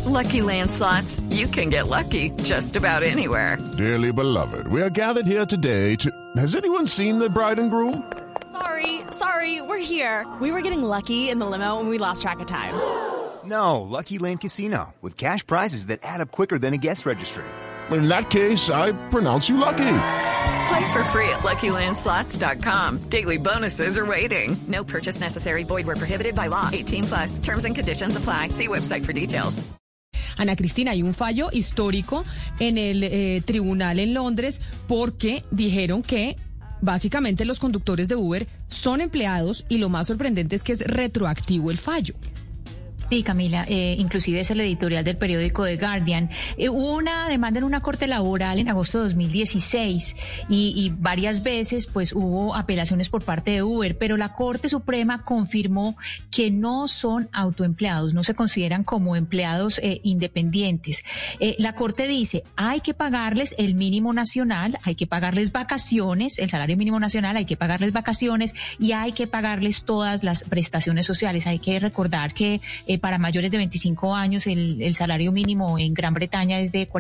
Lucky Land Slots, you can get lucky just about anywhere. Dearly beloved, we are gathered here today to... Has anyone seen the bride and groom? Sorry, we're here. We were getting lucky in the limo and we lost track of time. No, Lucky Land Casino, with cash prizes that add up quicker than a guest registry. In that case, I pronounce you lucky. Play for free at LuckyLandSlots.com. Daily bonuses are waiting. No purchase necessary. Void where prohibited by law. 18+. Terms and conditions apply. See website for details. Ana Cristina, hay un fallo histórico en el tribunal en Londres porque dijeron que básicamente los conductores de Uber son empleados y lo más sorprendente es que es retroactivo el fallo. Sí, Camila, inclusive es el editorial del periódico The Guardian. Hubo una demanda en una corte laboral en agosto de 2016 y varias veces pues hubo apelaciones por parte de Uber, pero la Corte Suprema confirmó que no son autoempleados, no se consideran como empleados independientes. La Corte dice, hay que pagarles el mínimo nacional, hay que pagarles vacaciones, el salario mínimo nacional, hay que pagarles vacaciones y hay que pagarles todas las prestaciones sociales. Hay que recordar que para mayores de 25 años el salario mínimo en Gran Bretaña es de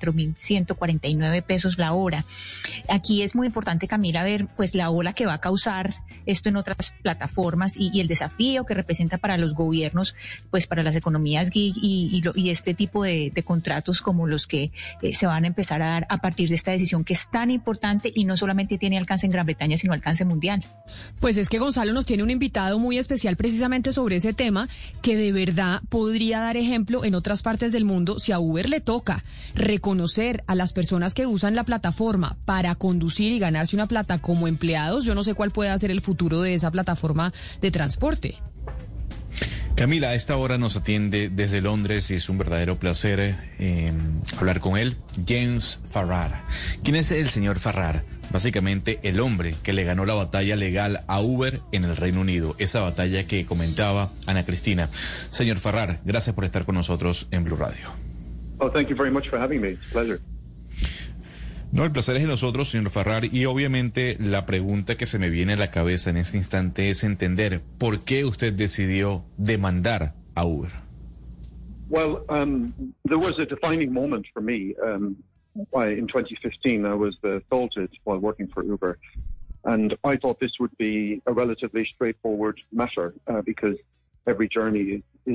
44.149 pesos la hora. Aquí es muy importante, Camila, ver pues la ola que va a causar esto en otras plataformas y el desafío que representa para los gobiernos, pues para las economías gig y este tipo de contratos como los que se van a empezar a dar a partir de esta decisión que es tan importante y no solamente tiene alcance en Gran Bretaña, sino alcance mundial. Pues es que Gonzalo nos tiene un invitado muy especial precisamente sobre ese tema que de verdad podría dar ejemplo en otras partes del mundo si a Uber le toca reconocer a las personas que usan la plataforma para conducir y ganarse una plata como empleados. Yo no sé cuál puede ser el futuro de esa plataforma de transporte. Camila, a esta hora nos atiende desde Londres y es un verdadero placer hablar con él, James Farrar. ¿Quién es el señor Farrar? Básicamente el hombre que le ganó la batalla legal a Uber en el Reino Unido, esa batalla que comentaba Ana Cristina. Señor Farrar, gracias por estar con nosotros en Blue Radio. Oh, thank you very much for having me. It's a pleasure. No, el placer es de nosotros, señor Farrar, y obviamente la pregunta que se me viene a la cabeza en este instante es entender por qué usted decidió demandar a Uber. Well, there was a defining moment for me. In 2015, I was assaulted while working for Uber, and I thought this would be a relatively straightforward matter because every journey is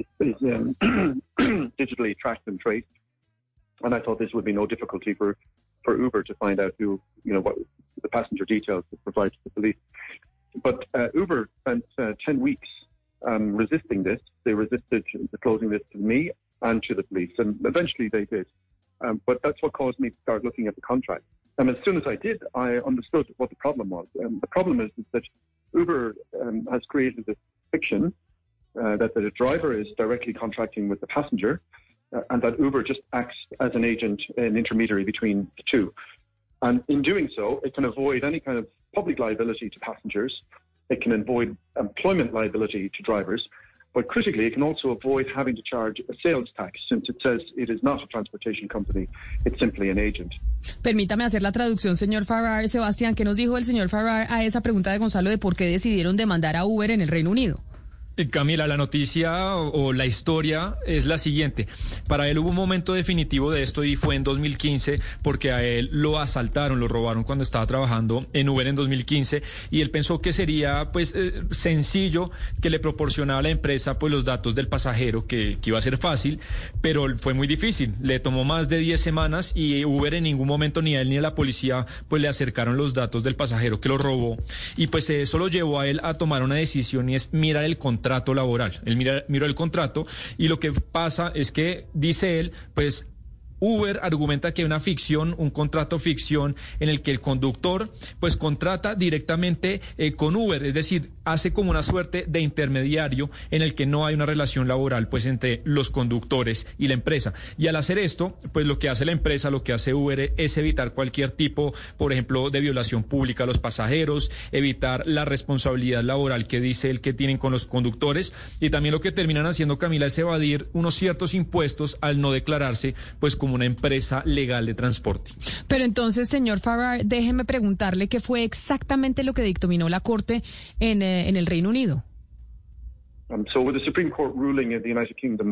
digitally tracked and traced, and I thought this would be no difficulty for Uber to find out what the passenger details to provide to the police. But Uber spent 10 weeks resisting this. They resisted disclosing this to me and to the police, and eventually they did. But that's what caused me to start looking at the contract. And as soon as I did, I understood what the problem was. The problem is that Uber has created this fiction that the driver is directly contracting with the passenger, and that Uber just acts as an agent, an intermediary between the two. And in doing so, it can avoid any kind of public liability to passengers. It can avoid employment liability to drivers. But critically, it can also avoid having to charge a sales tax, since it says it is not a transportation company, it's simply an agent. Permítame hacer la traducción, señor Farrar. Sebastián, ¿qué nos dijo el señor Farrar a esa pregunta de Gonzalo de por qué decidieron demandar a Uber en el Reino Unido? Camila, la noticia o la historia es la siguiente. Para él hubo un momento definitivo de esto y fue en 2015 porque a él lo asaltaron, lo robaron cuando estaba trabajando en Uber en 2015 y él pensó que sería pues sencillo que le proporcionaba a la empresa pues los datos del pasajero, que iba a ser fácil, pero fue muy difícil. Le tomó más de 10 semanas y Uber en ningún momento ni a él ni a la policía pues le acercaron los datos del pasajero que lo robó y pues eso lo llevó a él a tomar una decisión y es mirar el contrato laboral. Él miró el contrato y lo que pasa es que, dice él, pues Uber argumenta que hay una ficción, un contrato ficción en el que el conductor pues contrata directamente con Uber, es decir, hace como una suerte de intermediario en el que no hay una relación laboral pues entre los conductores y la empresa. Y al hacer esto, pues lo que hace la empresa, lo que hace Uber es evitar cualquier tipo, por ejemplo, de violación pública a los pasajeros, evitar la responsabilidad laboral que dice él que tienen con los conductores y también lo que terminan haciendo, Camila, es evadir unos ciertos impuestos al no declararse pues como una empresa legal de transporte. Pero entonces, señor Farrar, déjeme preguntarle qué fue exactamente lo que dictaminó la Corte en el Reino Unido. So with the Supreme Court ruling in the United Kingdom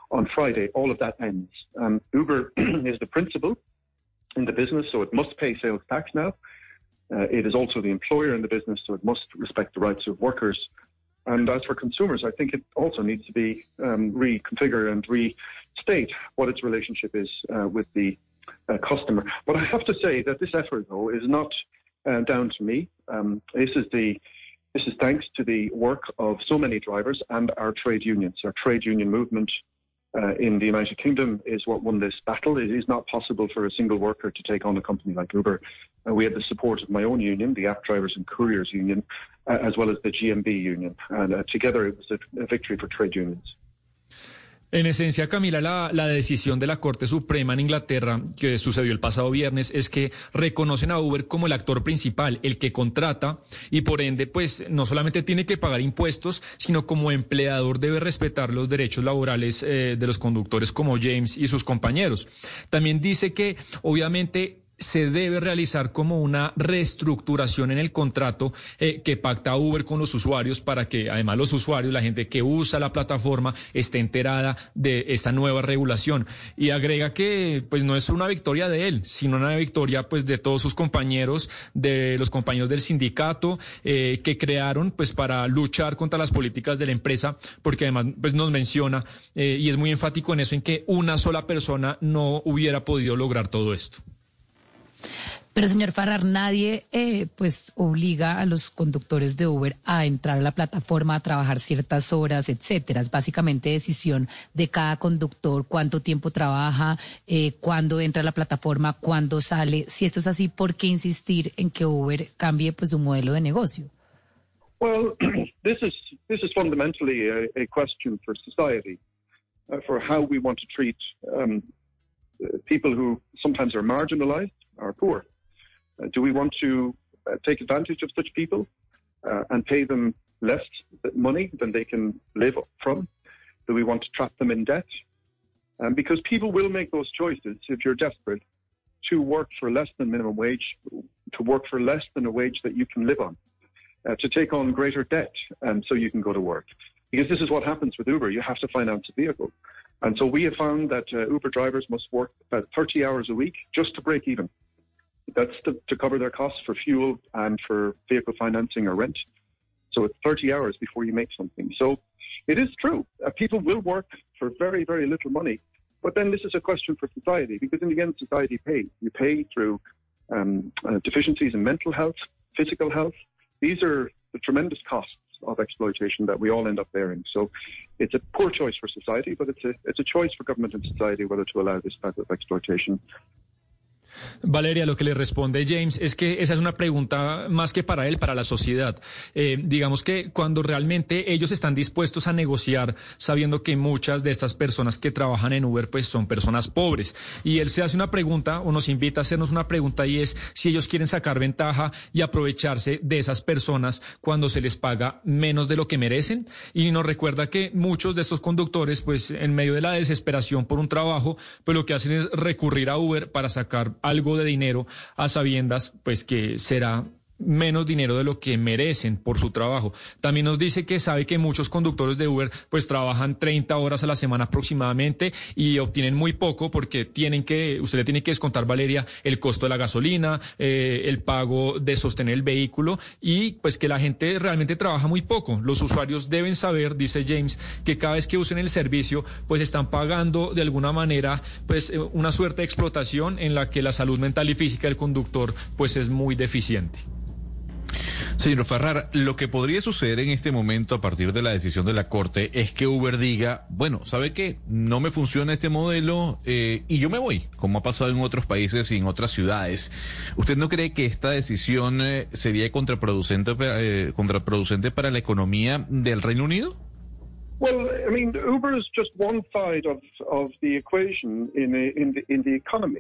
on Friday, all of that ends. Uber is the principal in the business, so it must pay sales tax now. It is also the employer in the business, so it must respect the rights of workers. And as for consumers, I think it also needs to be reconfigured and restate what its relationship is with the customer. But I have to say that this effort, though, is not down to me. This is thanks to the work of so many drivers and our trade unions. Our trade union movement in the United Kingdom is what won this battle. It is not possible for a single worker to take on a company like Uber. We had the support of my own union, the App Drivers and Couriers Union, as well as the GMB Union. And together it was a victory for trade unions. En esencia, Camila, la decisión de la Corte Suprema en Inglaterra, que sucedió el pasado viernes, es que reconocen a Uber como el actor principal, el que contrata, y por ende, pues, no solamente tiene que pagar impuestos, sino como empleador debe respetar los derechos laborales de los conductores como James y sus compañeros. También dice que, obviamente, se debe realizar como una reestructuración en el contrato que pacta Uber con los usuarios para que además los usuarios, la gente que usa la plataforma, esté enterada de esta nueva regulación. Y agrega que pues no es una victoria de él, sino una victoria pues de todos sus compañeros, de los compañeros del sindicato que crearon pues para luchar contra las políticas de la empresa, porque además pues nos menciona y es muy enfático en eso, en que una sola persona no hubiera podido lograr todo esto. Pero, señor Farrar, nadie pues obliga a los conductores de Uber a entrar a la plataforma, a trabajar ciertas horas, etcétera. Es básicamente decisión de cada conductor, cuánto tiempo trabaja, cuándo entra a la plataforma, cuándo sale. Si esto es así, ¿por qué insistir en que Uber cambie pues su modelo de negocio? Well, this is fundamentally a question for society, for how we want to treat people who sometimes are marginalized, are poor. Do we want to take advantage of such people and pay them less money than they can live from? Do we want to trap them in debt? Because people will make those choices if you're desperate to work for less than minimum wage, to work for less than a wage that you can live on, to take on greater debt so you can go to work. Because this is what happens with Uber. You have to finance a vehicle. And so we have found that Uber drivers must work about 30 hours a week just to break even. That's to cover their costs for fuel and for vehicle financing or rent. So it's 30 hours before you make something. So it is true. People will work for very, very little money. But then this is a question for society, because in the end, society pays. You pay through deficiencies in mental health, physical health. These are the tremendous costs of exploitation that we all end up bearing. So it's a poor choice for society, but it's a choice for government and society whether to allow this type of exploitation. Valeria, lo que le responde James es que esa es una pregunta más que para él, para la sociedad. Digamos que cuando realmente ellos están dispuestos a negociar, sabiendo que muchas de estas personas que trabajan en Uber pues son personas pobres, y él se hace una pregunta o nos invita a hacernos una pregunta, y es si ellos quieren sacar ventaja y aprovecharse de esas personas cuando se les paga menos de lo que merecen. Y nos recuerda que muchos de estos conductores pues en medio de la desesperación por un trabajo pues lo que hacen es recurrir a Uber para sacar algo de dinero a sabiendas pues que será menos dinero de lo que merecen por su trabajo. También nos dice que sabe que muchos conductores de Uber pues trabajan 30 horas a la semana aproximadamente y obtienen muy poco porque usted le tiene que descontar, Valeria, el costo de la gasolina, el pago de sostener el vehículo, y pues que la gente realmente trabaja muy poco. Los usuarios deben saber, dice James, que cada vez que usen el servicio pues están pagando de alguna manera pues una suerte de explotación en la que la salud mental y física del conductor pues es muy deficiente. Señor Farrar, lo que podría suceder en este momento a partir de la decisión de la Corte es que Uber diga, bueno, ¿sabe qué? No me funciona este modelo y yo me voy, como ha pasado en otros países y en otras ciudades. ¿Usted no cree que esta decisión sería contraproducente para la economía del Reino Unido? Well, I mean, Uber is just one side of the equation in the economy.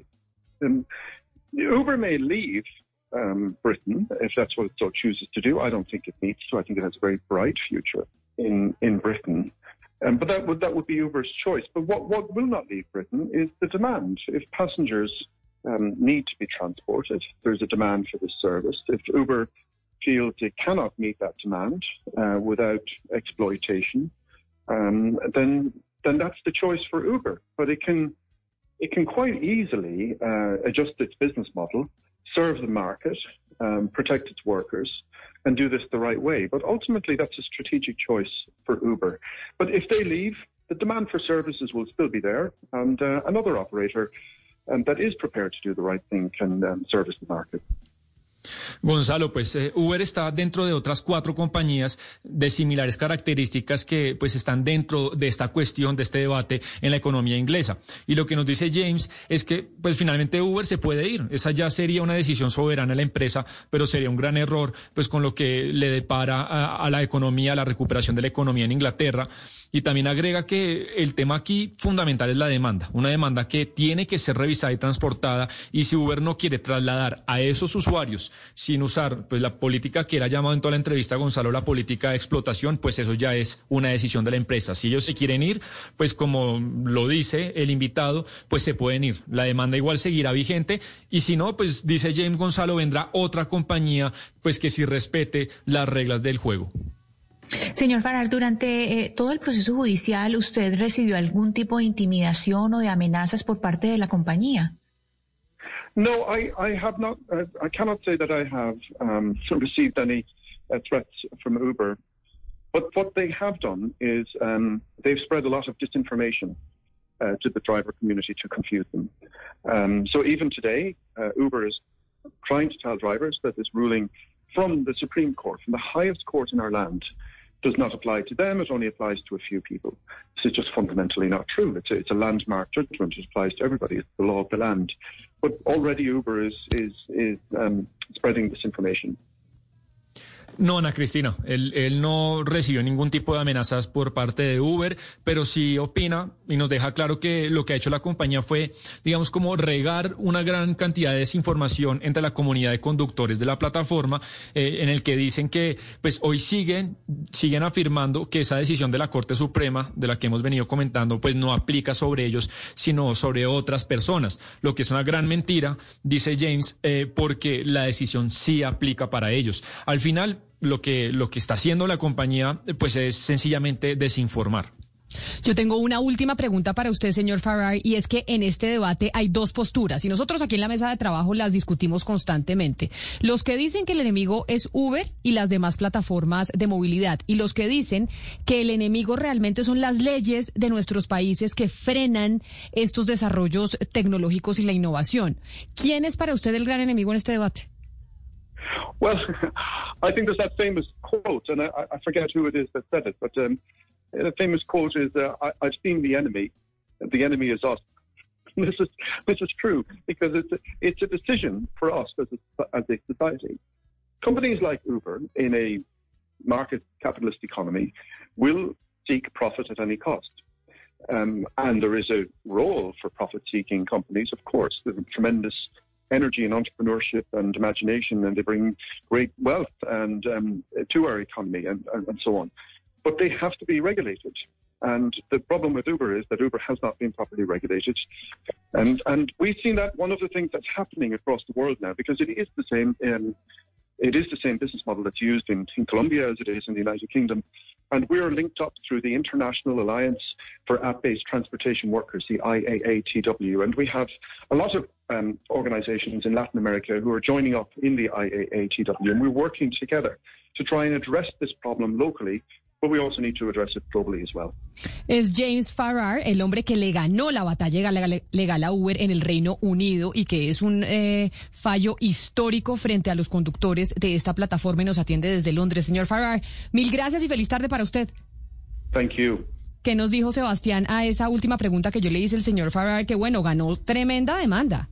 Uber may leave Britain, if that's what it so chooses to do. I don't think it needs to. I think it has a very bright future in Britain. But that would be Uber's choice. But what will not leave Britain is the demand. If passengers need to be transported, there's a demand for this service. If Uber feels it cannot meet that demand without exploitation, then then that's the choice for Uber. But it can quite easily adjust its business model, serve the market, protect its workers, and do this the right way. But ultimately, that's a strategic choice for Uber. But if they leave, the demand for services will still be there, and another operator that is prepared to do the right thing can service the market. Gonzalo, pues Uber está dentro de otras 4 compañías de similares características que pues están dentro de esta cuestión, de este debate en la economía inglesa. Y lo que nos dice James es que pues finalmente Uber se puede ir. Esa ya sería una decisión soberana de la empresa, pero sería un gran error pues con lo que le depara a la economía, a la recuperación de la economía en Inglaterra. Y también agrega que el tema aquí fundamental es la demanda, una demanda que tiene que ser revisada y transportada, y si Uber no quiere trasladar a esos usuarios sin usar pues la política que él ha llamado en toda la entrevista, Gonzalo, la política de explotación, pues eso ya es una decisión de la empresa. Si ellos se quieren ir, pues como lo dice el invitado, pues se pueden ir. La demanda igual seguirá vigente, y si no, pues dice James, Gonzalo, vendrá otra compañía pues que sí respete las reglas del juego. Señor Farrar, durante todo el proceso judicial, ¿usted recibió algún tipo de intimidación o de amenazas por parte de la compañía? No, I have not. I cannot say that I have received any threats from Uber. But what they have done is they've spread a lot of disinformation to the driver community to confuse them. So even today, Uber is trying to tell drivers that this ruling from the Supreme Court, from the highest court in our land, does not apply to them. It only applies to a few people. This is just fundamentally not true. It's a landmark judgment. It applies to everybody. It's the law of the land. But already Uber is spreading this information. No, Ana Cristina, él no recibió ningún tipo de amenazas por parte de Uber, pero sí opina y nos deja claro que lo que ha hecho la compañía fue, digamos, como regar una gran cantidad de desinformación entre la comunidad de conductores de la plataforma, en el que dicen que pues hoy siguen afirmando que esa decisión de la Corte Suprema, de la que hemos venido comentando, pues no aplica sobre ellos, sino sobre otras personas, lo que es una gran mentira, dice James, porque la decisión sí aplica para ellos. Al final, lo que está haciendo la compañía pues es sencillamente desinformar. Yo tengo una última pregunta para usted, señor Farrar, y es que en este debate hay 2 posturas, y nosotros aquí en la mesa de trabajo las discutimos constantemente. Los que dicen que el enemigo es Uber y las demás plataformas de movilidad, y los que dicen que el enemigo realmente son las leyes de nuestros países que frenan estos desarrollos tecnológicos y la innovación. ¿Quién es para usted el gran enemigo en este debate? Well, I think there's that famous quote, and I forget who it is that said it, but the famous quote is, I've seen the enemy is us. This is true, because it's a decision for us as a society. Companies like Uber, in a market capitalist economy, will seek profit at any cost. And there is a role for profit-seeking companies, of course. There's a tremendous energy and entrepreneurship and imagination, and they bring great wealth and to our economy and so on. But they have to be regulated. And the problem with Uber is that Uber has not been properly regulated. And we've seen that one of the things that's happening across the world now, because it is the same business model that's used in Colombia as it is in the United Kingdom. And we're linked up through the International Alliance for App-Based Transportation Workers, the IAATW. And we have a lot of organizations in Latin America who are joining up in the IAATW. And we're working together to try and address this problem locally, but we also need to address it globally as well. Es James Farrar, el hombre que le ganó la batalla legal a Uber en el Reino Unido y que es un fallo histórico frente a los conductores de esta plataforma, y nos atiende desde Londres. Señor Farrar, mil gracias y feliz tarde para usted. Thank you. ¿Qué nos dijo Sebastián a esa última pregunta que yo le hice al señor Farrar? Que bueno, ganó tremenda demanda.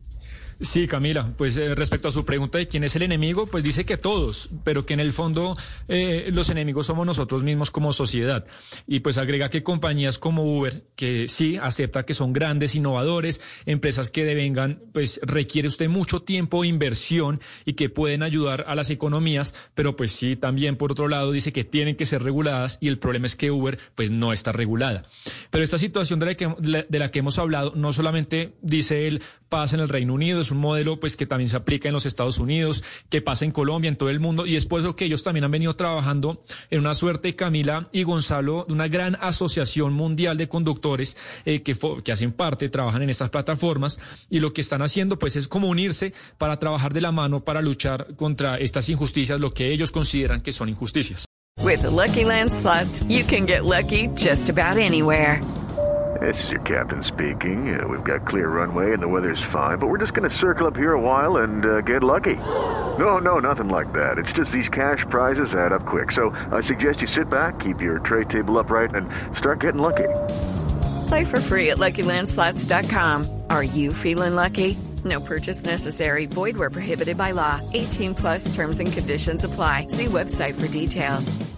Sí, Camila, pues respecto a su pregunta de quién es el enemigo, pues dice que todos, pero que en el fondo los enemigos somos nosotros mismos como sociedad. Y pues agrega que compañías como Uber, que sí acepta que son grandes innovadores, empresas que devengan, pues requiere usted mucho tiempo e inversión y que pueden ayudar a las economías, pero pues sí también por otro lado dice que tienen que ser reguladas, y el problema es que Uber pues no está regulada. Pero esta situación de la que hemos hablado no solamente, dice él, pasa en el Reino Unido, es un modelo pues que también se aplica en los Estados Unidos, que pasa en Colombia, en todo el mundo, y es por eso que ellos también han venido trabajando en una suerte, Camila y Gonzalo, de una gran asociación mundial de conductores que hacen parte, trabajan en estas plataformas, y lo que están haciendo pues es como unirse para trabajar de la mano para luchar contra estas injusticias, lo que ellos consideran que son injusticias. With the Lucky Land Slots, you can get lucky just about anywhere. This is your captain speaking. We've got clear runway and the weather's fine, but we're just going to circle up here a while and get lucky. No, nothing like that. It's just these cash prizes add up quick. So I suggest you sit back, keep your tray table upright, and start getting lucky. Play for free at LuckyLandSlots.com. Are you feeling lucky? No purchase necessary. Void where prohibited by law. 18+ terms and conditions apply. See website for details.